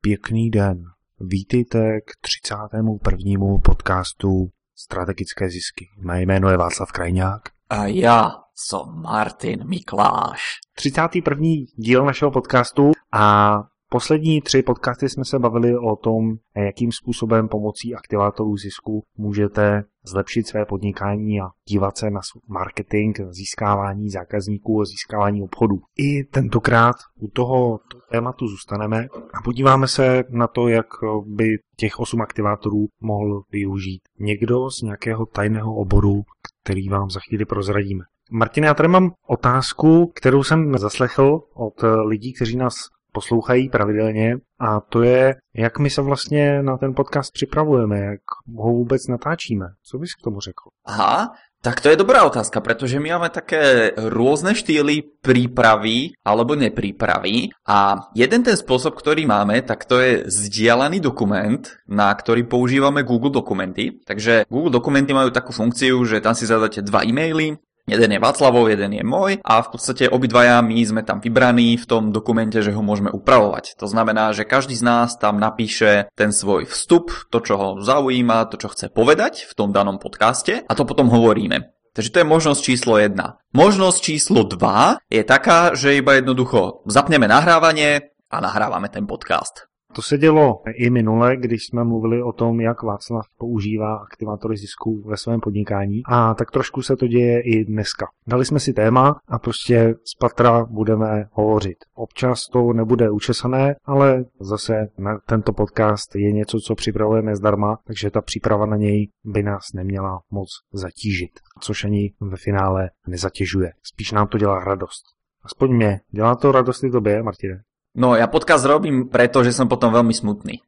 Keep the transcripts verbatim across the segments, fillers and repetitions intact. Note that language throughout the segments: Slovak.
Pěkný den. Vítejte k třicátému prvnímu podcastu Strategické zisky. Mé jméno je Václav Krajňák. A já jsem Martin Mikláš. třicátý první díl našeho podcastu a poslední tři podcasty jsme se bavili o tom, jakým způsobem pomocí aktivátorů zisku můžete zlepšit své podnikání a dívat se na marketing, získávání zákazníků a získávání obchodů. I tentokrát u toho tématu zůstaneme a podíváme se na to, jak by těch osm aktivátorů mohl využít někdo z nějakého tajného oboru, který vám za chvíli prozradíme. Martin, já tady mám otázku, kterou jsem zaslechl od lidí, kteří nás poslouchají pravidelně, a to je, jak my se vlastně na ten podcast připravujeme, jak ho vůbec natáčíme. Co bys k tomu řekl? Aha, tak to je dobrá otázka, pretože my máme také rôzne štýly prípravy alebo neprípravy a jeden ten spôsob, ktorý máme, tak to je zdieľaný dokument, na ktorý používame Google Dokumenty. Takže Google Dokumenty majú takú funkciu, že tam si zadáte dva e-maily, jeden je Václavov, jeden je môj a v podstate obidvaja my sme tam vybraní v tom dokumente, že ho môžeme upravovať. To znamená, že každý z nás tam napíše ten svoj vstup, to, čo ho zaujíma, to, čo chce povedať v tom danom podcaste a to potom hovoríme. Takže to je možnosť číslo jedna. Možnosť číslo dva je taká, že iba jednoducho zapneme nahrávanie a nahrávame ten podcast. To se dělo i minule, když jsme mluvili o tom, jak Václav používá aktivátory zisku ve svém podnikání, a tak trošku se to děje i dneska. Dali jsme si téma a prostě z patra budeme hovořit. Občas to nebude učesané, ale zase na tento podcast je něco, co připravujeme zdarma, takže ta příprava na něj by nás neměla moc zatížit, což ani ve finále nezatěžuje. Spíš nám to dělá radost. Aspoň mě. Dělá to radost i tobě, Martine? No, ja podcast robím preto, že som potom veľmi smutný.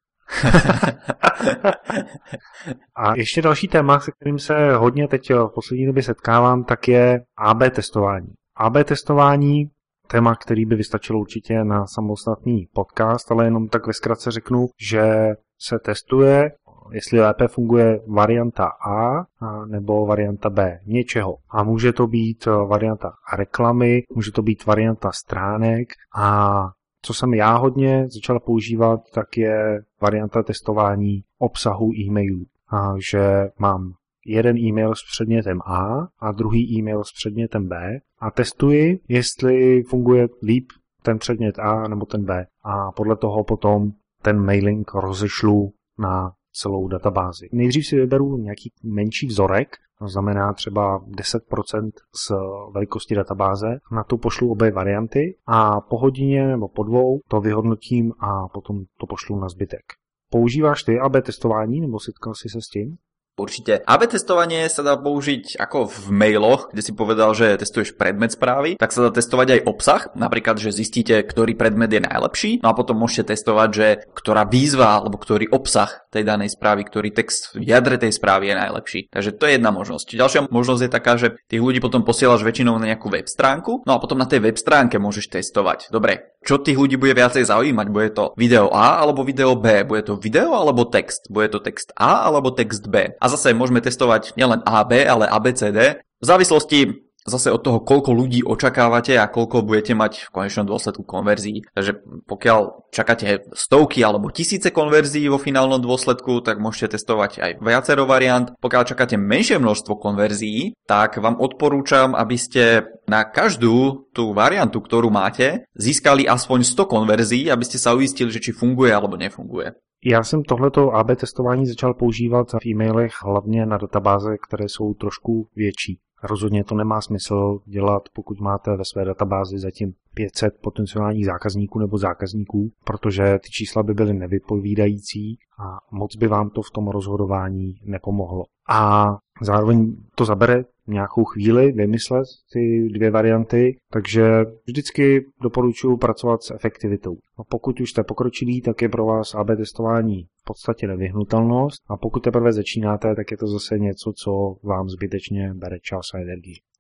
A ještě další téma, se kterým se hodně teď v poslední době setkávám, tak je á bé testování. á bé testování, téma, který by vystačilo určitě na samostatný podcast, ale jenom tak ve zkratce řeknu, že se testuje, jestli lépe funguje varianta A nebo varianta B něčeho. A může to být varianta reklamy, může to být varianta stránek, a co jsem já hodně začal používat, tak je varianta testování obsahu e-mailů. A že mám jeden e-mail s předmětem A a druhý e-mail s předmětem B a testuji, jestli funguje líp ten předmět A nebo ten B. A podle toho potom ten mailing rozešlu na celou databázi. Nejdřív si vyberu nějaký menší vzorek, to znamená třeba deset procent z velikosti databáze, na to pošlu obě varianty a po hodině nebo po dvou to vyhodnotím a potom to pošlu na zbytek. Používáš ty á bé testování nebo setkal si se s tím? Určite. á bé testovanie sa dá použiť ako v mailoch, kde si povedal, že testuješ predmet správy, tak sa dá testovať aj obsah, napríklad, že zistíte, ktorý predmet je najlepší, no a potom môžete testovať, že ktorá výzva alebo ktorý obsah tej danej správy, ktorý text v jadre tej správy je najlepší. Takže to je jedna možnosť. Ďalšia možnosť je taká, že tých ľudí potom posielaš väčšinou na nejakú web stránku, no a potom na tej web stránke môžeš testovať. Dobre, čo tých ľudí bude viacej zaujímať? Bude to video A alebo video B? Bude to video alebo text? Bude to text A alebo text B? A zase môžeme testovať nielen A B, ale A B C D. V závislosti zase od toho, koľko ľudí očakávate a koľko budete mať v konečnom dôsledku konverzií. Takže pokiaľ čakáte stovky alebo tisíce konverzií vo finálnom dôsledku, tak môžete testovať aj viacero variant. Pokiaľ čakáte menšie množstvo konverzií, tak vám odporúčam, aby ste na každú tú variantu, ktorú máte, získali aspoň sto konverzií, aby ste sa uistili, že či funguje alebo nefunguje. Já jsem tohleto á bé testování začal používat v e-mailech hlavně na databáze, které jsou trošku větší. Rozhodně to nemá smysl dělat, pokud máte ve své databázi zatím pět set potenciálních zákazníků nebo zákazníků, protože ty čísla by byly nevypovídající a moc by vám to v tom rozhodování nepomohlo. A zároveň to zabere nějakou chvíli vymyslet ty dvě varianty, takže vždycky doporučuji pracovat s efektivitou. A pokud už jste pokročilí, tak je pro vás á bé testování v podstatě nevyhnutelnost, a pokud teprve začínáte, tak je to zase něco, co vám zbytečně bere čas a energii.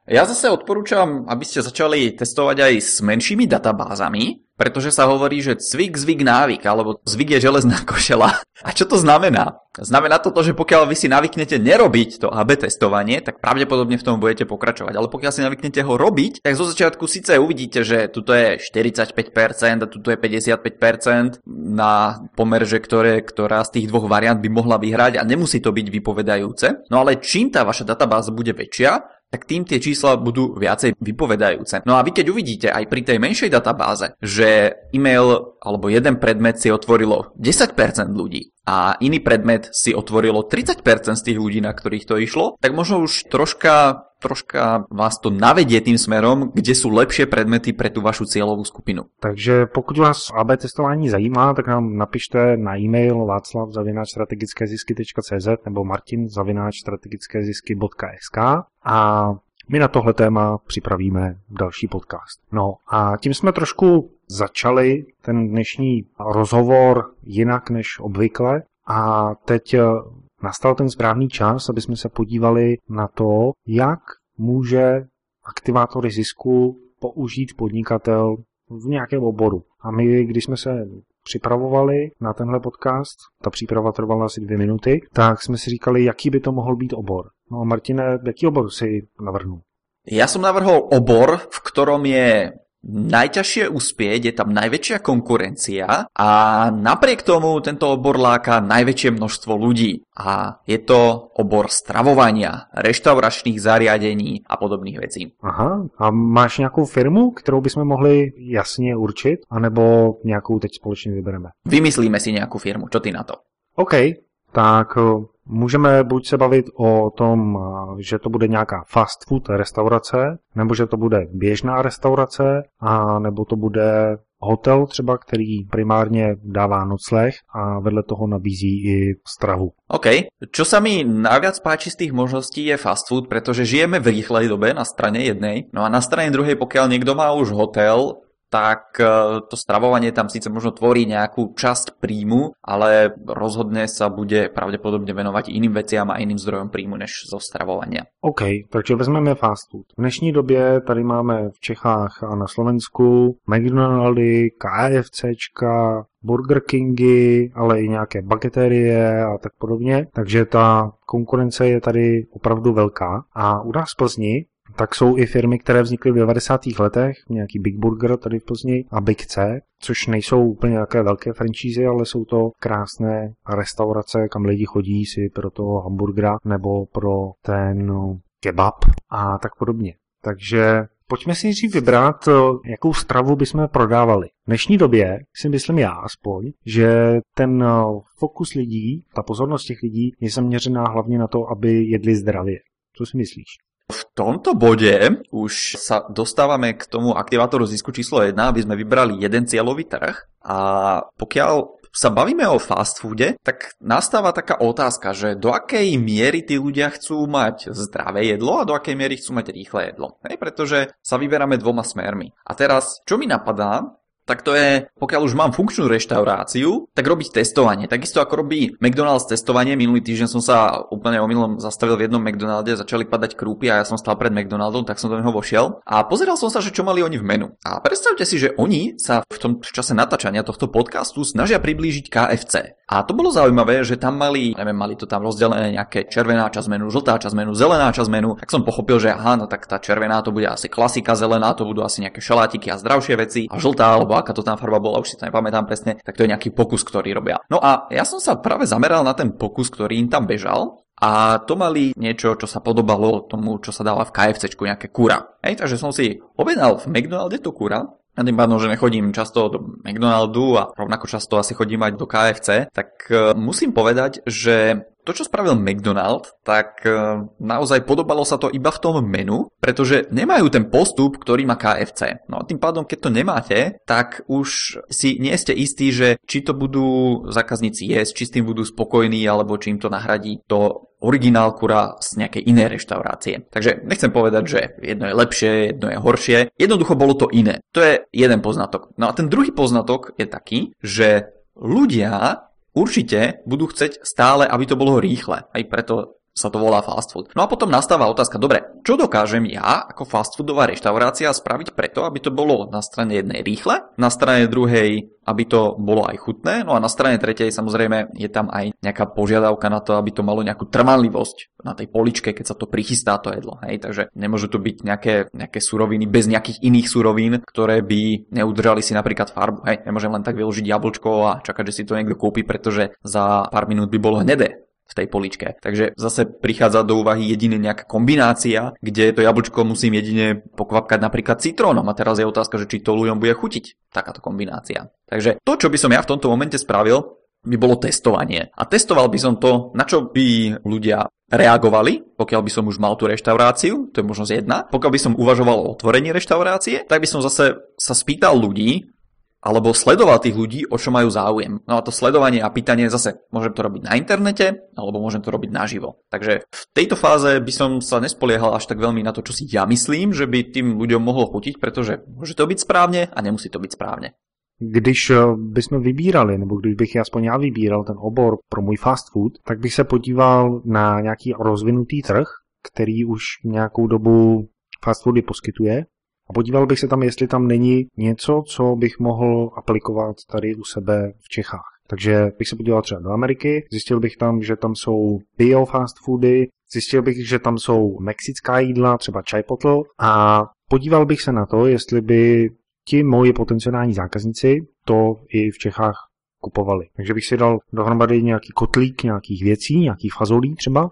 Ja zase odporúčam, aby ste začali testovať aj s menšími databázami, pretože sa hovorí, že cvik, zvyk, návyk, alebo zvyk je železná košela. A čo to znamená? Znamená to to, že pokiaľ vy si navyknete nerobiť to á bé testovanie, tak pravdepodobne v tom budete pokračovať. Ale pokiaľ si navyknete ho robiť, tak zo začiatku síce uvidíte, že tuto je štyridsaťpäť percent a tuto je päťdesiatpäť percent na pomer, že ktoré, ktorá z tých dvoch variant by mohla vyhrať a nemusí to byť vypovedajúce. No ale čím tá vaša databáza bude väčšia, tak tým tie čísla budú viacej vypovedajúce. No a vy keď uvidíte aj pri tej menšej databáze, že e-mail alebo jeden predmet si otvorilo desať percent ľudí a iný predmet si otvorilo tridsať percent z tých ľudí, na ktorých to išlo, tak možno už troška, troška vás to navedie tým smerom, kde sú lepšie predmety pre tú vašu cieľovú skupinu. Takže pokud vás á bé testování zajímá, tak nám napište na e-mail václav zavináč strategické zisky tečka cé zet nebo martin zavináč strategické zisky tečka es ká a my na tohle téma připravíme další podcast. No a tím jsme trošku začali ten dnešní rozhovor jinak než obvykle a teď nastal ten správný čas, aby jsme se podívali na to, jak může aktivátory zisku použít podnikatel v nějakém oboru. A my, když jsme se připravovali na tenhle podcast, ta příprava trvala asi dvě minuty, tak jsme si říkali, jaký by to mohl být obor. No a Martine, jaký obor si navrhnul? Ja som navrhol obor, v ktorom je najťažšie uspieť, je tam najväčšia konkurencia a napriek tomu tento obor láka najväčšie množstvo ľudí. A je to obor stravovania, reštauračných zariadení a podobných vecí. Aha, a máš nějakou firmu, kterou bychom mohli jasně určit, anebo nějakou teď společně vybereme? Vymyslíme si nějakou firmu, čo ty na to? OK, tak můžeme buď se bavit o tom, že to bude nějaká fast food restaurace, nebo že to bude běžná restaurace, a nebo to bude hotel třeba, který primárně dává nocleh a vedle toho nabízí i stravu. OK. Čo sa mi najviac páči z tých možností je fast food, pretože žijeme v rýchlej dobe na strane jednej, no a na strane druhej, pokiaľ niekto má už hotel, tak to stravovanie tam síce možno tvorí nejakú časť príjmu, ale rozhodne sa bude pravdepodobne venovať iným veciam a iným zdrojom príjmu než zo stravovania. OK, takže vezmeme fast food. V dnešní době tady máme v Čechách a na Slovensku McDonaldy, KFCčka, Burger Kingy, ale i nějaké bageterie a tak podobně. Takže ta konkurence je tady opravdu velká. A u nás v Plzni tak jsou i firmy, které vznikly v devadesátých letech, nějaký Big Burger tady v Plzni a Big C, což nejsou úplně nějaké velké franšízy, ale jsou to krásné restaurace, kam lidi chodí si pro toho hamburgera nebo pro ten kebab a tak podobně. Takže pojďme si nejdřív vybrat, jakou stravu bychom prodávali. V dnešní době si myslím já aspoň, že ten fokus lidí, ta pozornost těch lidí je zaměřená hlavně na to, aby jedli zdravě. Co si myslíš? V tomto bode už sa dostávame k tomu aktivátoru zisku číslo jedna, aby sme vybrali jeden cieľový trh a pokiaľ sa bavíme o fast foode, tak nastáva taká otázka, že do akej miery tí ľudia chcú mať zdravé jedlo a do akej miery chcú mať rýchle jedlo. Hej, pretože sa vyberáme dvoma smermi. A teraz, čo mi napadá, tak to je, pokiaľ už mám funkčnú reštauráciu, tak robiť testovanie. Takisto ako robí McDonald's testovanie. Minulý týždeň som sa úplne omylom zastavil v jednom McDonalde, začali padať krúpy a ja som stál pred McDonaldom, tak som do neho vošiel a pozeral som sa, že čo mali oni v menu. A predstavte si, že oni sa v tom čase natáčania tohto podcastu snažia priblížiť ká ef cé. A to bolo zaujímavé, že tam mali, neviem, mali to tam rozdelené nejaké červená časť menu, žltá časť menu, zelená časť menu. Tak som pochopil, že aha, no tak tá červená to bude asi klasika, zelená to budú asi nejaké šalátiky a zdravšie veci a žltá alebo aká to tam farba bola, už si to nepamätám presne, tak to je nejaký pokus, ktorý robia. No a ja som sa práve zameral na ten pokus, ktorý im tam bežal a to mali niečo, čo sa podobalo tomu, čo sa dáva v KFCčku, nejaké kura. Hej, takže som si objednal v McDonalde to kura. A tým pádom, že nechodím často do McDonaldu a rovnako často asi chodím aj do ká ef cé, tak uh, musím povedať, že to, čo spravil McDonald, tak uh, naozaj podobalo sa to iba v tom menu, pretože nemajú ten postup, ktorý má ká ef cé. No a tým pádom, keď to nemáte, tak už si nie ste istí, že či to budú zákazníci jesť, či s tým budú spokojní, alebo či im to nahradí to originál kura z nejakej inej reštaurácie. Takže nechcem povedať, že jedno je lepšie, jedno je horšie. Jednoducho bolo to iné. To je jeden poznatok. No a ten druhý poznatok je taký, že ľudia určite budú chceť stále, aby to bolo rýchle. Aj preto sa to volá fast food. No a potom nastáva otázka, dobre, čo dokážem ja ako fast foodová reštaurácia spraviť preto, aby to bolo na strane jednej rýchle, na strane druhej, aby to bolo aj chutné, no a na strane tretej samozrejme je tam aj nejaká požiadavka na to, aby to malo nejakú trvanlivosť na tej poličke, keď sa to prichystá to jedlo. Hej? Takže nemôžu to byť nejaké, nejaké suroviny bez nejakých iných surovín, ktoré by neudržali si napríklad farbu. Hej? Nemôžem len tak vyložiť jablčko a čakať, že si to niekto kúpi, pretože za pár minút by bolo hnedé v tej poličke. Takže zase prichádza do úvahy jedine nejaká kombinácia, kde to jablčko musím jedine pokvapkať napríklad citrónom. A teraz je otázka, že či to ľuďom bude chutiť takáto kombinácia. Takže to, čo by som ja v tomto momente spravil, by bolo testovanie. A testoval by som to, na čo by ľudia reagovali, pokiaľ by som už mal tú reštauráciu, to je možnosť jedna. Pokiaľ by som uvažoval o otvorení reštaurácie, tak by som zase sa spýtal ľudí, alebo sledoval tých ľudí, o čo majú záujem. No a to sledovanie a pýtanie zase môžem to robiť na internete, alebo môžem to robiť naživo. Takže v tejto fáze by som sa nespoliehal až tak veľmi na to, čo si ja myslím, že by tým ľuďom mohlo chutiť, pretože môže to byť správne a nemusí to byť správne. Když bychom vybírali, nebo když bych aspoň já vybíral ten obor pro můj fast food, tak bych se podíval na nějaký rozvinutý trh, který už nějakou dobu fast foody poskytuje. A podíval bych se tam, jestli tam není něco, co bych mohl aplikovat tady u sebe v Čechách. Takže bych se podíval třeba do Ameriky, zjistil bych tam, že tam jsou bio fast foody, zjistil bych, že tam jsou mexická jídla, třeba Chipotle, a podíval bych se na to, jestli by ti moji potenciální zákazníci to i v Čechách kupovali. Takže bych si dal dohromady nějaký kotlík nějakých věcí, nějakých fazolí třeba,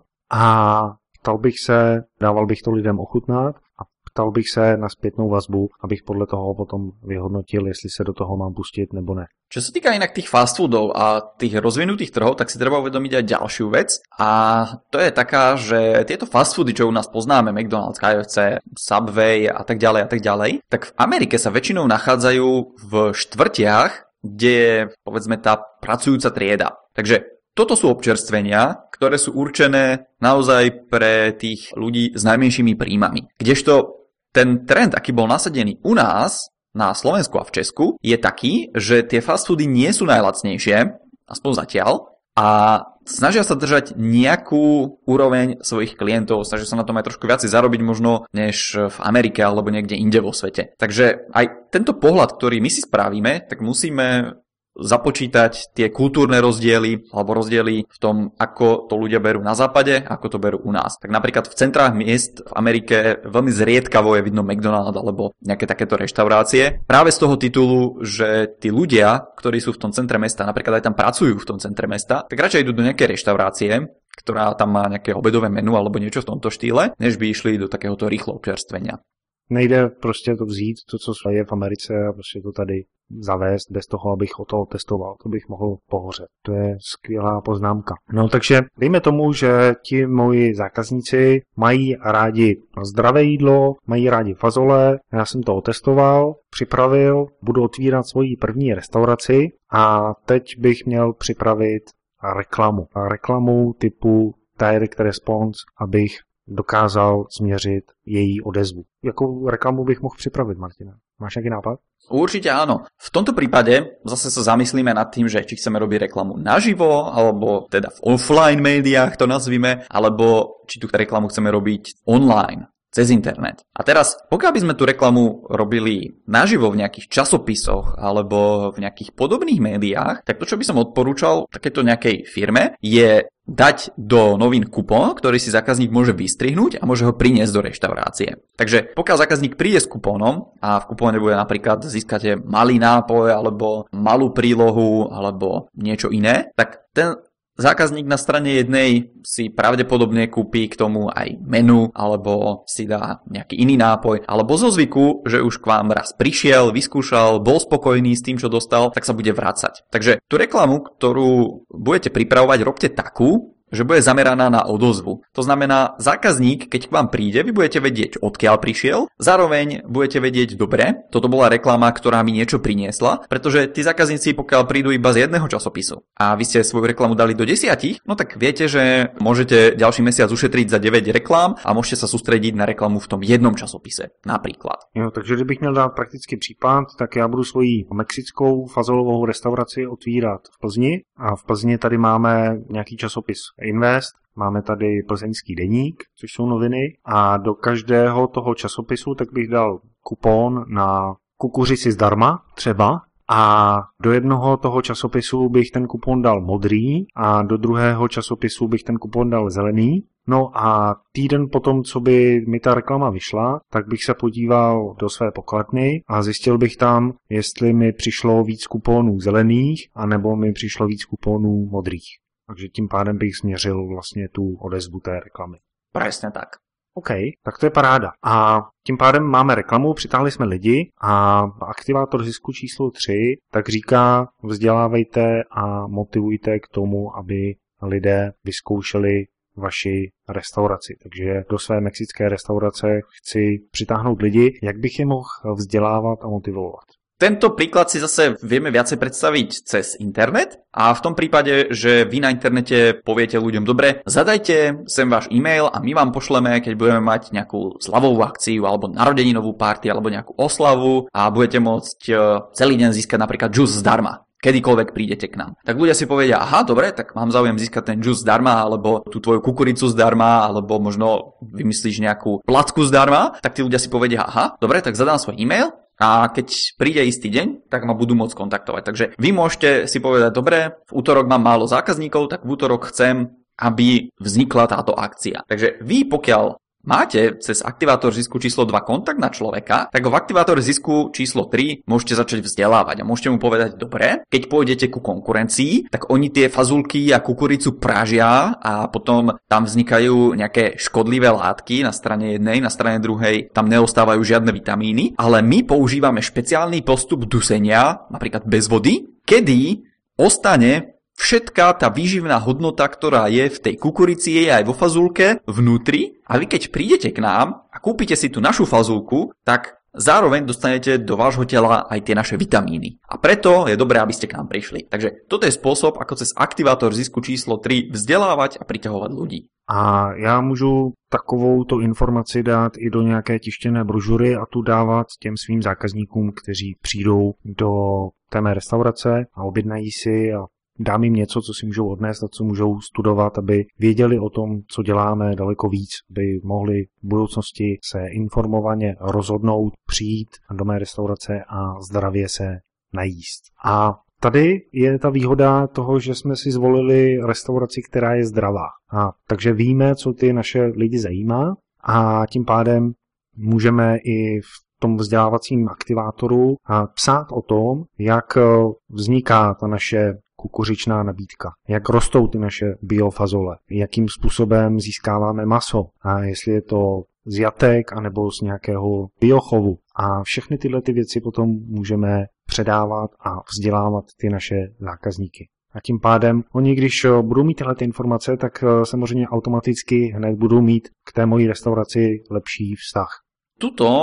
a ptal bych se, dával bych to lidem ochutnat a ptal bych se na zpětnou vazbu, abych podle toho potom vyhodnotil, jestli se do toho mám pustit nebo ne. Čo sa týka inak tých fast foodov a tých rozvinutých trhov, tak si treba uvedomiť aj ďalšiu vec, a to je taká, že tieto fast foody, čo u nás poznáme, McDonald's, ká ef cé, Subway a tak ďalej a tak ďalej, tak v Amerike sa väčšinou nachádzajú v štvrtiach, kde je, povedzme, tá pracujúca trieda. Takže toto sú občerstvenia, ktoré sú určené naozaj pre tých ľudí s najmenšími príjmami. Kdežto ten trend, aký bol nasadený u nás, na Slovensku a v Česku, je taký, že tie fast foody nie sú najlacnejšie, aspoň zatiaľ, a snažia sa držať nejakú úroveň svojich klientov, snažia sa na tom aj trošku viac zarobiť možno než v Amerike alebo niekde inde vo svete. Takže aj tento pohľad, ktorý my si spravíme, tak musíme započítať tie kultúrne rozdiely alebo rozdiely v tom, ako to ľudia berú na západe, ako to berú u nás. Tak napríklad v centrách miest v Amerike veľmi zriedkavo je vidno McDonald's alebo nejaké takéto reštaurácie. Práve z toho titulu, že tí ľudia, ktorí sú v tom centre mesta, napríklad aj tam pracujú v tom centre mesta, tak radšej idú do nejakej reštaurácie, ktorá tam má nejaké obedové menu alebo niečo v tomto štýle, než by išli do takéhoto rýchlo občerstvenia. Nejde prostě to vzít, to, co je v Americe, a prostě to tady zavést bez toho, abych o toho testoval. To bych mohl pohořet. To je skvělá poznámka. No takže dejme tomu, že ti moji zákazníci mají rádi zdravé jídlo, mají rádi fazole, já jsem to otestoval, připravil, budu otvírat svoji první restauraci a teď bych měl připravit reklamu. A reklamu typu direct response, abych dokázal změřit její odezvu. Jakou reklamu bych mohl připravit, Martina? Máš nejaký nápad? Určite áno. V tomto prípade zase sa zamyslíme nad tým, že či chceme robiť reklamu naživo, alebo teda v offline médiách to nazvime, alebo či tú reklamu chceme robiť online, cez internet. A teraz, pokiaľ by sme tú reklamu robili naživo v nejakých časopisoch alebo v nejakých podobných médiách, tak to, čo by som odporúčal takéto nejakej firme, je dať do novín kupón, ktorý si zákazník môže vystrihnúť a môže ho priniesť do reštaurácie. Takže pokiaľ zákazník príde s kupónom a v kupóne bude napríklad získate malý nápoj alebo malú prílohu alebo niečo iné, tak ten zákazník na strane jednej si pravdepodobne kúpi k tomu aj menu alebo si dá nejaký iný nápoj, alebo zo zvyku, že už k vám raz prišiel, vyskúšal, bol spokojný s tým, čo dostal, tak sa bude vracať. Takže tú reklamu, ktorú budete pripravovať, robte takú, že bude zameraná na odozvu. To znamená, zákazník, keď k vám príde, vy budete vedieť, odkiaľ prišiel, zároveň budete vedieť, dobre, toto bola reklama, ktorá mi niečo priniesla, pretože tí zákazníci, pokiaľ prídu iba z jedného časopisu a vy ste svoju reklamu dali do desiatich, no tak viete, že môžete ďalší mesiac ušetriť za deväť reklám a môžete sa sústrediť na reklamu v tom jednom časopise, napríklad. Jo, takže kdybych měl dát praktický případ, tak já budu svoji mexickou fazolovou restauraci otvírat v Plzni a v Plzni tady máme nějaký časopis Invest, máme tady Plzeňský deník, což jsou noviny, a do každého toho časopisu tak bych dal kupon na kukuřici zdarma třeba, a do jednoho toho časopisu bych ten kupon dal modrý a do druhého časopisu bych ten kupon dal zelený. No a týden potom, co by mi ta reklama vyšla, tak bych se podíval do své pokladny a zjistil bych tam, jestli mi přišlo víc kuponů zelených, anebo mi přišlo víc kuponů modrých. Takže tím pádem bych změřil vlastně tu odezvu té reklamy. Presne tak. OK, tak to je paráda. A tím pádem máme reklamu, přitáhli jsme lidi a aktivátor zisku číslo tři tak říká, vzdělávejte a motivujte k tomu, aby lidé vyzkoušeli vaši restauraci. Takže do své mexické restaurace chci přitáhnout lidi, jak bych je mohl vzdělávat a motivovat. Tento príklad si zase vieme viacej predstaviť cez internet a v tom prípade, že vy na internete poviete ľuďom, dobre, zadajte sem váš e-mail a my vám pošleme, keď budeme mať nejakú slavovú akciu alebo narodeninovú party alebo nejakú oslavu a budete môcť celý deň získať napríklad džus zdarma. Kedykoľvek prídete k nám. Tak ľudia si povedia, aha, dobre, tak mám záujem získať ten džus zdarma, alebo tú tvoju kukuricu zdarma, alebo možno vymyslíš nejakú placku zdarma, tak tí ľudia si povedia, aha, dobre, tak zadám svoj e-mail a keď príde istý deň, tak ma budú môcť kontaktovať. Takže vy môžete si povedať, dobre, v útorok mám málo zákazníkov, tak v útorok chcem, aby vznikla táto akcia. Takže vy, pokiaľ máte cez aktivátor zisku číslo dva kontakt na človeka, tak v aktivátore zisku číslo tri môžete začať vzdelávať a môžete mu povedať, dobre, keď pôjdete ku konkurencii, tak oni tie fazulky a kukuricu pražia a potom tam vznikajú nejaké škodlivé látky na strane jednej, na strane druhej tam neostávajú žiadne vitamíny, ale my používame špeciálny postup dusenia, napríklad bez vody, kedy ostane všetká tá výživná hodnota, ktorá je v tej kukurici, je aj vo fazulke vnútri a vy keď prídete k nám a kúpite si tú našu fazulku, tak zároveň dostanete do vášho tela aj tie naše vitamíny. A preto je dobré, aby ste k nám prišli. Takže toto je spôsob, ako cez aktivátor zisku číslo tri vzdelávať a priťahovať ľudí. A já můžu takovou tu informaci dát i do nějaké tištěné brožury a tu dávat těm svým zákazníkům, kteří přijdou do té mé restaurace a objednají si a dám jim něco, co si můžou odnést a co můžou studovat, aby věděli o tom, co děláme daleko víc, aby mohli v budoucnosti se informovaně rozhodnout, přijít do mé restaurace a zdravě se najíst. A tady je ta výhoda toho, že jsme si zvolili restauraci, která je zdravá. A takže víme, co ty naše lidi zajímá a tím pádem můžeme i v tom vzdělávacím aktivátoru psát o tom, jak vzniká ta naše kukuřičná nabídka, jak rostou ty naše biofazole, jakým způsobem získáváme maso a jestli je to z jatek anebo z nějakého biochovu. A všechny tyhle ty věci potom můžeme předávat a vzdělávat ty naše zákazníky. A tím pádem oni, když budou mít tyhle ty informace, tak samozřejmě automaticky hned budou mít k té mojí restauraci lepší vztah. Tuto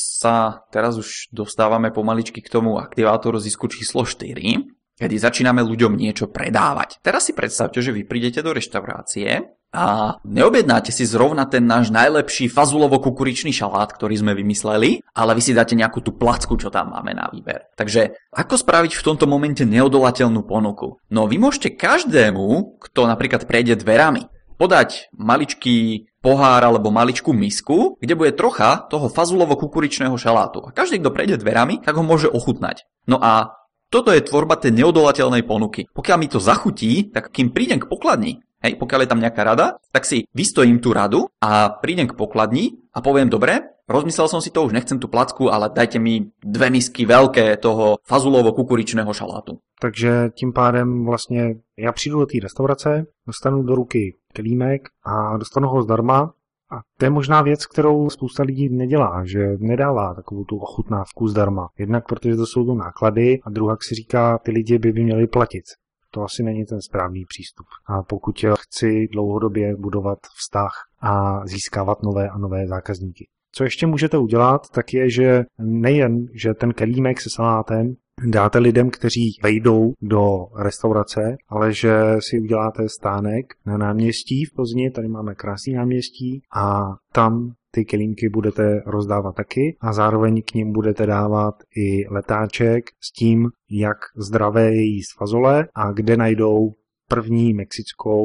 sa teraz už dostávame pomaličky k tomu aktivátoru zisku číslo štyri, kedy začíname ľuďom niečo predávať. Teraz si predstavte, že vy prídete do reštaurácie a neobjednáte si zrovna ten náš najlepší fazulovo-kukuričný šalát, ktorý sme vymysleli, ale vy si dáte nejakú tú placku, čo tam máme na výber. Takže ako spraviť v tomto momente neodolateľnú ponuku? No vy môžete každému, kto napríklad prejde dverami, podať maličký pohár alebo maličkú misku, kde bude trocha toho fazulovo-kukuričného šalátu. A každý, kto prejde dverami, tak ho môže ochutnať. No a toto je tvorba tej neodolateľnej ponuky. Pokiaľ mi to zachutí, tak kým prídem k pokladni, hej, pokiaľ je tam nejaká rada, tak si vystojím tú radu a prídem k pokladni a poviem, dobre, rozmyslel som si to, už nechcem tú placku, ale dajte mi dve misky veľké toho fazulovo-kukuričného šalátu. Takže tím pádem vlastně já přijdu do té restaurace, dostanu do ruky kelímek a dostanu ho zdarma. A to je možná věc, kterou spousta lidí nedělá, že nedává takovou tu ochutnávku zdarma. Jednak protože to jsou to náklady a druhá si říká, ty lidi by, by měli platit. To asi není ten správný přístup. A pokud chci dlouhodobě budovat vztah a získávat nové a nové zákazníky. Co ještě můžete udělat, tak je, že nejen, že ten kelímek se salátem dáte lidem, kteří vejdou do restaurace, ale že si uděláte stánek na náměstí v Plzni, tady máme krásný náměstí a tam ty kelímky budete rozdávat taky a zároveň k nim budete dávat i letáček s tím, jak zdravé je jíst fazole a kde najdou první mexickou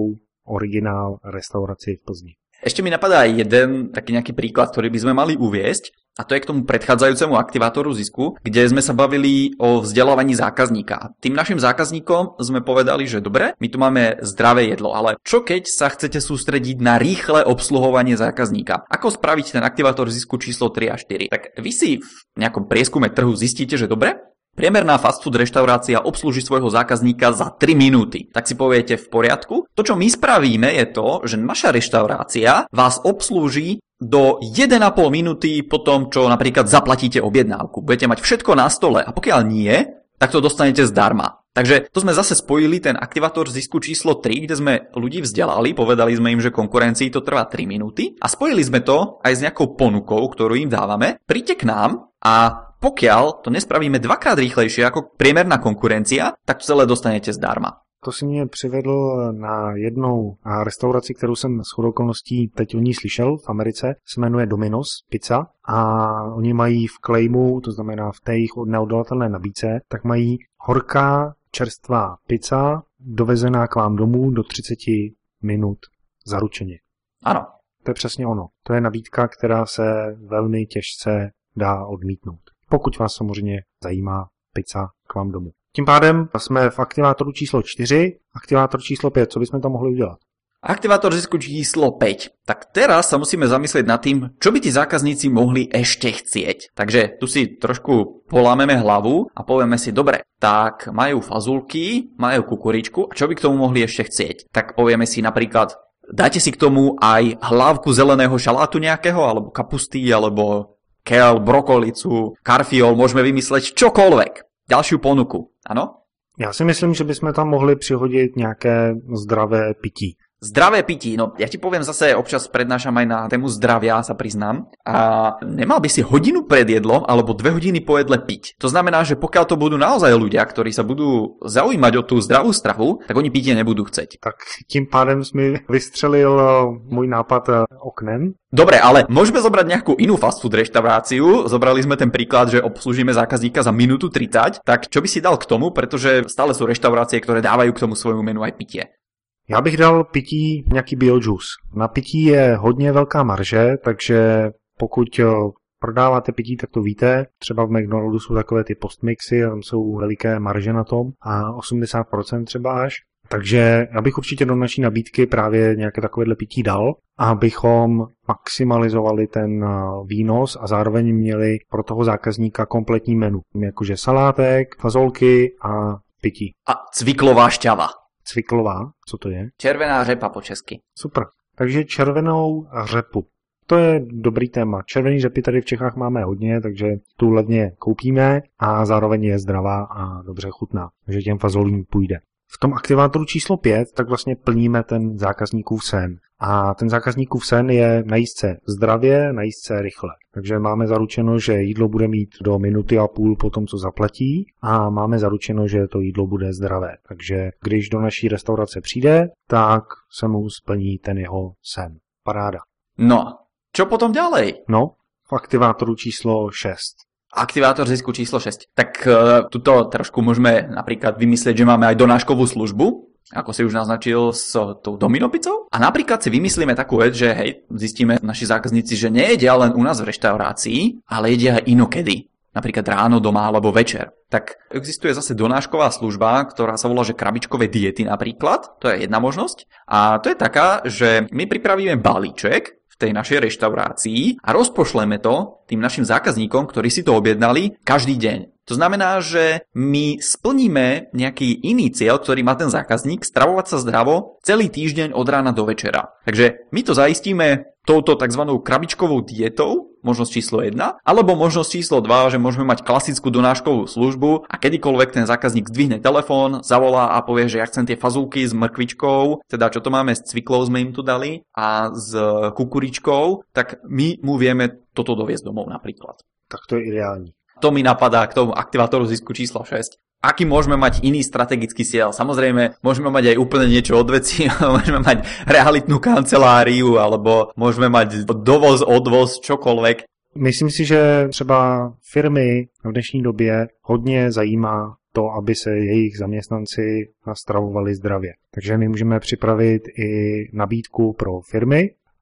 originál restauraci v Plzni. Ešte mi napadá jeden taký nejaký príklad, ktorý by sme mali uviesť, a to je k tomu predchádzajúcemu aktivátoru zisku, kde sme sa bavili o vzdelávaní zákazníka. Tým našim zákazníkom sme povedali, že dobre, my tu máme zdravé jedlo, ale čo keď sa chcete sústrediť na rýchle obsluhovanie zákazníka? Ako spraviť ten aktivátor zisku číslo tri a štyri? Tak vy si v nejakom prieskume trhu zistíte, že dobre, priemerná fast food reštaurácia obslúži svojho zákazníka za tri minúty. Tak si poviete v poriadku. To, čo my spravíme, je to, že naša reštaurácia vás obslúži do jeden a pol minúty po tom, čo napríklad zaplatíte objednávku. Budete mať všetko na stole a pokiaľ nie, tak to dostanete zdarma. Takže to sme zase spojili ten aktivátor zisku číslo tri, kde sme ľudí vzdelali, povedali sme im, že konkurencii to trvá tri minúty a spojili sme to aj s nejakou ponukou, ktorú im dávame. Príďte k nám a pokiaľ to nespravíme dvakrát rýchlejšie ako priemerná konkurencia, tak to celé dostanete zdarma. To si mě přivedl na jednou restauraci, kterou jsem shodou okolností teď o ní slyšel v Americe, se jmenuje Domino's Pizza a oni mají v claimu, to znamená v té jejich neodolatelné nabídce, tak mají horká čerstvá pizza dovezená k vám domů do třicet minut zaručeně. Ano. To je přesně ono. To je nabídka, která se velmi těžce dá odmítnout. Pokud vás samozřejmě zajímá pizza k vám domů. Tím pádem jsme v aktivátoru číslo čtyři, aktivátor číslo pět. Co bychom tam mohli udělat? Aktivátor zisku číslo päť. Tak teraz sa musíme zamyslieť nad tým, čo by tí zákazníci mohli ešte chcieť. Takže tu si trošku polámeme hlavu a povieme si, dobre, tak majú fazulky, majú kukuričku a čo by k tomu mohli ešte chcieť? Tak povieme si napríklad, dáte si k tomu aj hlávku zeleného šalátu nejakého, alebo kapusty, alebo kel, brokolicu, karfiol, môžeme vymysleť čokoľvek. Ďalšiu ponuku, áno? Já si myslím, že bychom tam mohli přihodit nějaké zdravé pití. Zdravé pití, no ja ti poviem zase, občas prednášam aj na tému zdravia, sa priznám. A nemal by si hodinu pred jedlom alebo dve hodiny po jedle piť. To znamená, že pokiaľ to budú naozaj ľudia, ktorí sa budú zaujímať o tú zdravú stravu, tak oni pitie nebudú chceť. Tak tím pádem mi vystřelil môj nápad oknem. Dobre, ale môžeme zobrať nejakú inú fast food reštauráciu. Zobrali sme ten príklad, že obslúžime zákazníka za minútu tridsať. Tak čo by si dal k tomu, pretože stále sú reštaurácie, ktoré dávajú k tomu svojmu menu aj pitie. Já bych dal pití nějaký biojuice. Na pití je hodně velká marže, takže pokud prodáváte pití, tak to víte. Třeba v McDonaldu jsou takové ty postmixy, tam jsou veliké marže na tom a osmdesát procent třeba až. Takže já bych určitě do naší nabídky právě nějaké takovéhle pití dal, abychom maximalizovali ten výnos a zároveň měli pro toho zákazníka kompletní menu. Jakože salátek, fazolky a pití. A cviklová šťava. Cviklová, co to je? Červená řepa po česky. Super. Takže červenou řepu. To je dobrý téma. Červený řepy tady v Čechách máme hodně, takže tu levně koupíme a zároveň je zdravá a dobře chutná. Takže těm fazolím půjde. V tom aktivátoru číslo pět tak vlastně plníme ten zákazníkův sen. A ten zákazníkův sen je najíst se zdravě, najíst se rychle. Takže máme zaručeno, že jídlo bude mít do minuty a půl po tom, co zaplatí a máme zaručeno, že to jídlo bude zdravé. Takže když do naší restaurace přijde, tak se mu splní ten jeho sen. Paráda. No, čo potom ďalej? No, v aktivátoru číslo šest. Aktivátor zisku číslo šesť. Tak uh, tuto trošku môžeme napríklad vymyslieť, že máme aj donáškovú službu, ako si už naznačil s tou Domino pizzou. A napríklad si vymyslíme takú vec, že hej, zistíme naši zákazníci, že nejedia len u nás v reštaurácii, ale jedia aj inokedy. Napríklad ráno, doma alebo večer. Tak existuje zase donášková služba, ktorá sa volá, že krabičkové diety napríklad. To je jedna možnosť. A to je taká, že my pripravíme balíček v tej našej reštaurácii a rozpošleme to tým našim zákazníkom, ktorí si to objednali každý deň. To znamená, že my splníme nejaký iný cieľ, ktorý má ten zákazník, stravovať sa zdravo celý týždeň od rána do večera. Takže my to zaistíme touto tzv. Krabičkovou dietou, možnosť číslo jedna, alebo možnosť číslo dva, že môžeme mať klasickú donáškovú službu a kedykoľvek ten zákazník zdvihne telefón, zavolá a povie, že ja chcem tie fazulky s mrkvičkou, teda čo to máme, s cviklou sme im tu dali a s kukuričkou, tak my mu vieme toto doviesť domov napríklad. Tak to je ideální. To mi napadá k tomu aktivátoru zisku číslo šesť. Aký môžeme mať iný strategický cieľ? Samozrejme, môžeme mať aj úplne niečo od veci, môžeme mať realitnú kanceláriu, alebo môžeme mať dovoz, odvoz, čokoľvek. Myslím si, že třeba firmy v dnešní době hodně zajímá to, aby se jejich zaměstnanci stravovali zdravě. Takže my můžeme připravit i nabídku pro firmy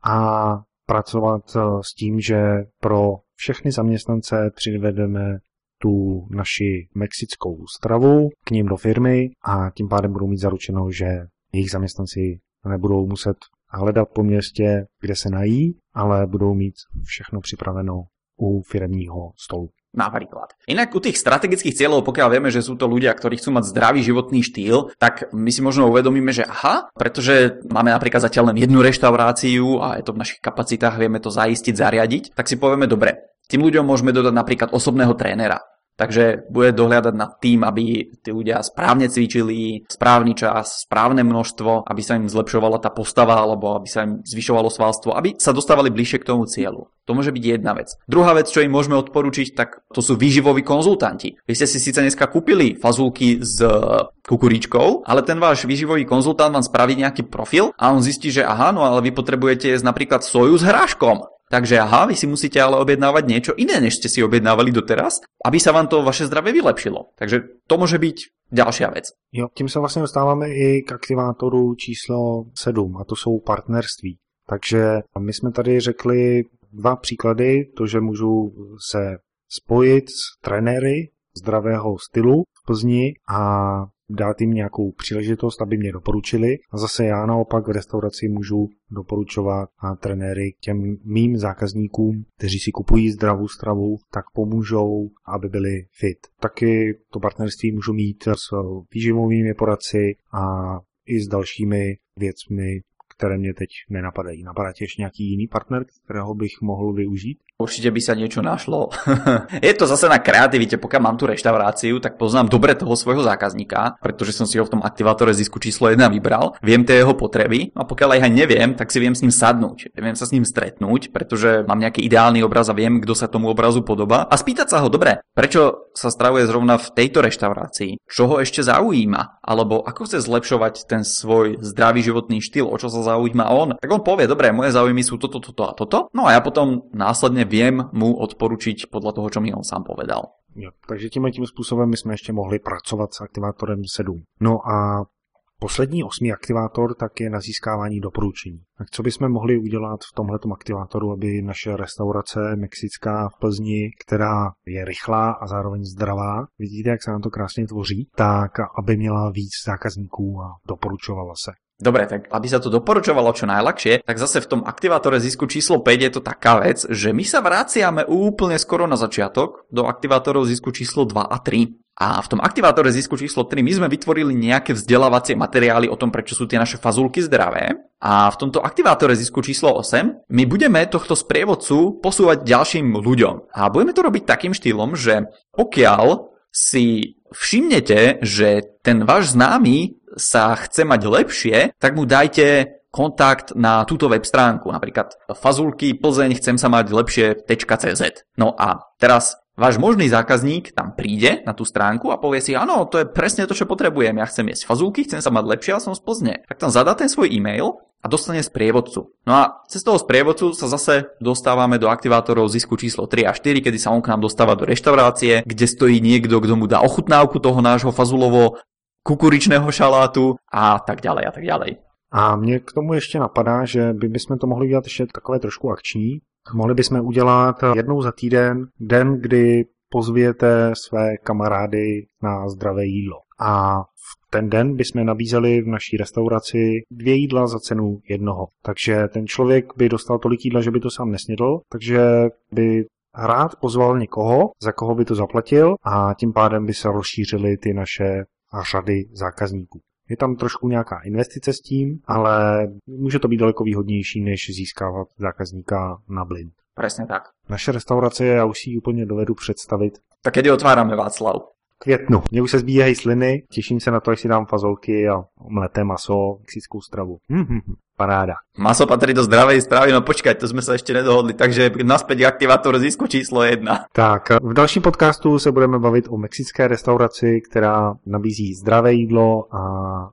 a pracovat s tím, že pro všechny zaměstnance přivedeme tu naši mexickou stravu k ním do firmy a tím pádem budou mít zaručeno, že jejich zaměstnanci nebudou muset hledat po městě, kde se nají, ale budou mít všechno připraveno u firemního stolu. Napríklad. Inak u tých strategických cieľov, pokiaľ vieme, že sú to ľudia, ktorí chcú mať zdravý životný štýl, tak my si možno uvedomíme, že aha, pretože máme napríklad zatiaľ len jednu reštauráciu a je to v našich kapacitách, vieme to zaistiť, zariadiť, tak si povieme, dobre, tým ľuďom môžeme dodať napríklad osobného trénera. Takže bude dohliadať nad tým, aby tí ľudia správne cvičili, správny čas, správne množstvo, aby sa im zlepšovala tá postava alebo aby sa im zvyšovalo svalstvo, aby sa dostávali bližšie k tomu cieľu. To môže byť jedna vec. Druhá vec, čo im môžeme odporučiť, tak to sú výživoví konzultanti. Vy ste si síce dneska kúpili fazulky s kukuričkou, ale ten váš výživový konzultant vám spraví nejaký profil a on zistí, že aha, no ale vy potrebujete jesť napríklad soju s hráškom. Takže aha, vy si musíte ale objednávať niečo iné, než ste si objednávali doteraz, aby sa vám to vaše zdravie vylepšilo. Takže to môže byť ďalšia vec. Jo, tím se vlastně dostáváme i k aktivátoru číslo sedm, a to jsou partnerství. Takže my jsme tady řekli dva příklady, to, že můžu se spojit s trenéry zdravého stylu v Plzni a dát jim nějakou příležitost, aby mě doporučili. A zase já naopak v restauraci můžu doporučovat a trenéry těm mým zákazníkům, kteří si kupují zdravou stravu, tak pomůžou, aby byli fit. Taky to partnerství můžu mít s výživovými poradci a i s dalšími věcmi, které mě teď nenapadají. Napadá ti ještě nějaký jiný partner, kterého bych mohl využít? Určite by sa niečo našlo. Je to zase na kreativite, pokiaľ mám tú reštauráciu, tak poznám dobre toho svojho zákazníka, pretože som si ho v tom aktivátore zisku číslo jedna vybral, viem tie jeho potreby a pokiaľ aj neviem, tak si viem s ním sadnúť, viem sa s ním stretnúť, pretože mám nejaký ideálny obraz a viem, kto sa tomu obrazu podobá a spýtať sa ho, dobre, prečo sa stravuje zrovna v tejto reštaurácii, čo ho ešte zaujíma, alebo ako chce zlepšovať ten svoj zdravý životný štýl, o čo sa zaujíma on, tak on povie, dobre, moje záujmy sú toto, toto a toto, no a ja potom následne viem mu odporučiť podľa toho, čo mi on sám povedal. Jo, takže tímhle tím způsobem my jsme ještě mohli pracovat s aktivátorem sedm. No a poslední osmý aktivátor tak je na získávání doporučení. Tak co bychom mohli udělat v tomhletom aktivátoru, aby naše restaurace mexická v Plzni, která je rychlá a zároveň zdravá, vidíte, jak se nám to krásně tvoří, tak aby měla víc zákazníků a doporučovala se. Dobre, tak aby sa to doporučovalo čo najľahšie, tak zase v tom aktivátore zisku číslo päť je to taká vec, že my sa vraciame úplne skoro na začiatok do aktivátorov zisku číslo dva a tri. A v tom aktivátore zisku číslo tri my sme vytvorili nejaké vzdelávacie materiály o tom, prečo sú tie naše fazulky zdravé. A v tomto aktivátore zisku číslo osem my budeme tohto sprievodcu posúvať ďalším ľuďom. A budeme to robiť takým štýlom, že pokiaľ si všimnete, že ten váš známy sa chce mať lepšie, tak mu dajte kontakt na túto web stránku, napríklad fazulky Plzeň chcem sa mať lepšie .cz. No a teraz váš možný zákazník tam príde na tú stránku a povie si, áno, to je presne to, čo potrebujem, ja chcem jesť fazulky, chcem sa mať lepšie, ale som z Plzne. Tak tam zadá ten svoj e-mail a dostane sprievodcu. No a cez toho sprievodcu sa zase dostávame do aktivátorov zisku číslo tri a štyri, kedy sa on k nám dostáva do reštaurácie, kde stojí niekto, kto mu dá ochutnávku toho nášho fazulovo kukuričného šalátu a tak ďalej a tak ďalej. A mě k tomu ještě napadá, že by bychom to mohli udělat ještě takové trošku akční. Mohli bychom udělat jednou za týden den, kdy pozvěte své kamarády na zdravé jídlo. A v ten den bychom nabízeli v naší restauraci dvě jídla za cenu jednoho. Takže ten člověk by dostal tolik jídla, že by to sám nesnědl, takže by rád pozval někoho, za koho by to zaplatil a tím pádem by se rozšířily ty naše řady zákazníků. Je tam trošku nějaká investice s tím, ale může to být daleko výhodnější, než získávat zákazníka na blind. Presne tak. Naše restaurace, já už si ji úplně dovedu představit. Tak kedy otvárame, Václav? Květnu. Mně už se zbíhají sliny, těším se na to, až si dám fazolky a omleté maso, mexickou stravu. Hm, paráda. Maso patrí do zdravej stravy, no počkať, to sme sa ešte nedohodli, takže naspäť k aktivátoru zisku číslo jedna. Tak, v dalším podcastu se budeme bavit o mexické restauraci, která nabízí zdravé jídlo a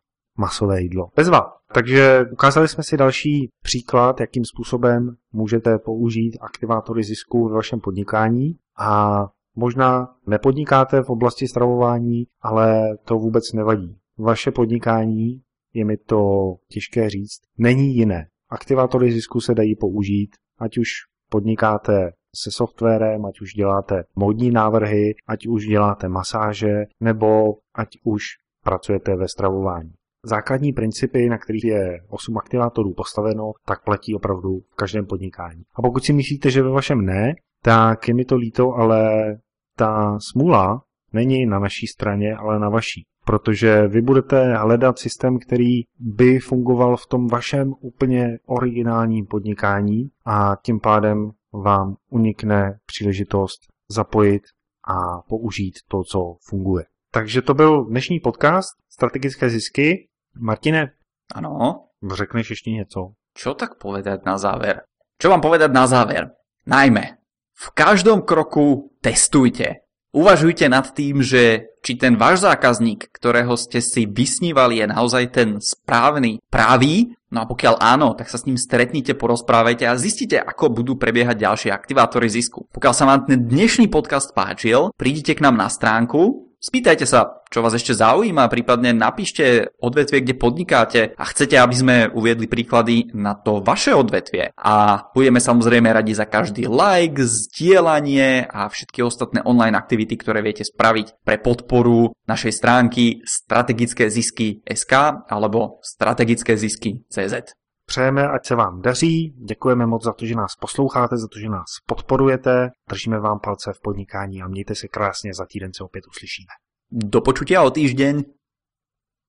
masové jídlo. Bezva. Takže ukázali jsme si další příklad, jakým způsobem můžete použít aktivátory zisku ve vašem podnikání a Možná nepodnikáte v oblasti stravování, ale to vůbec nevadí. Vaše podnikání, je mi to těžké říct, není jiné. Aktivátory zisku se dají použít, ať už podnikáte se softwarem, ať už děláte módní návrhy, ať už děláte masáže, nebo ať už pracujete ve stravování. Základní principy, na kterých je osm aktivátorů postaveno, tak platí opravdu v každém podnikání. A pokud si myslíte, že ve vašem ne, tak je mi to líto, ale ta smůla není na naší straně, ale na vaší. Protože vy budete hledat systém, který by fungoval v tom vašem úplně originálním podnikání a tím pádem vám unikne příležitost zapojit a použít to, co funguje. Takže to byl dnešní podcast Strategické zisky. Martine, ano. Řekneš ještě něco? Čo tak povedať na záver? Čo vám povedať na záver? Najmä, v každom kroku testujte. Uvažujte nad tým, že či ten váš zákazník, ktorého ste si vysnívali, je naozaj ten správny, pravý. No a pokiaľ áno, tak sa s ním stretnite, porozprávajte a zistite, ako budú prebiehať ďalšie aktivátory zisku. Pokiaľ sa vám ten dnešný podcast páčil, prídite k nám na stránku, spýtajte sa, čo vás ešte zaujíma, prípadne napíšte odvetvie, kde podnikáte a chcete, aby sme uviedli príklady na to vaše odvetvie. A budeme samozrejme radi za každý like, zdieľanie a všetky ostatné online aktivity, ktoré viete spraviť pre podporu našej stránky strategické zisky bodka es ká alebo strategické zisky bodka cé zet. Přejeme, ať se vám daří, děkujeme moc za to, že nás posloucháte, za to, že nás podporujete, držíme vám palce v podnikání a mějte se krásně, za týden se opět uslyšíme. Do počutia o týždeň.